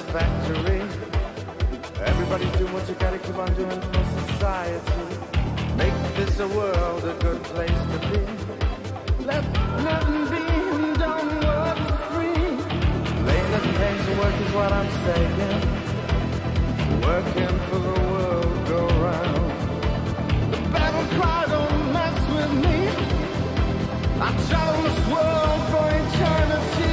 the factory. Everybody's doing what you gotta keep on doing for society. Make this a world a good place to be. Let nothing be and don't work for free. Laying as pays to work is what I'm saying. Working for the world go round. The battle cry don't mess with me. I travel this world for eternity.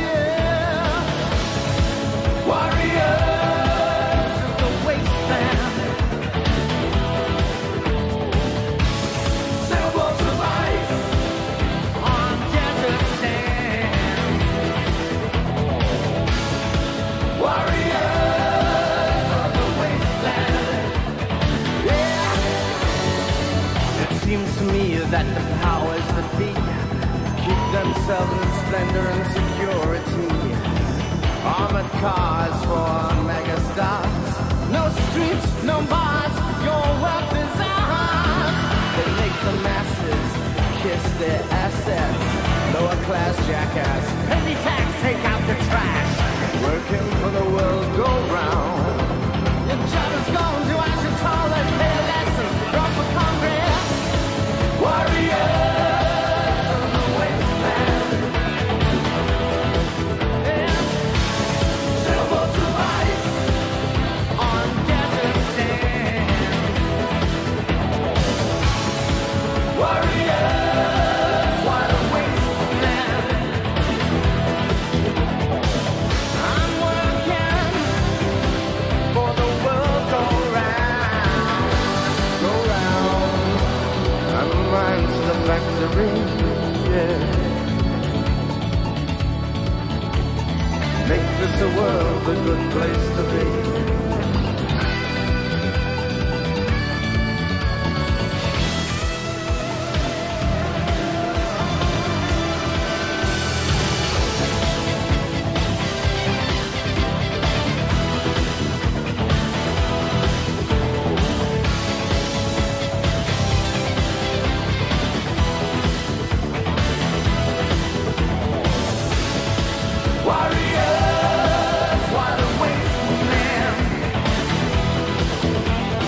Warriors of the wasteland, sailboats of ice on desert sand. Warriors of the wasteland, yeah. It seems to me that the powers that be keep themselves in splendor and security. Armored cars for megastars. No streets, no bars, your wealth is ours. They make the masses kiss their assets. Lower class jackass, penny tax, take out the trash. Working for the world go round. Your job is gone to as you told and pay a lesson. Run for Congress. Warriors. Factory, yeah. Make this a world a good place to be.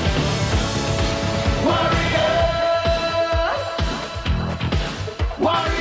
Warriors!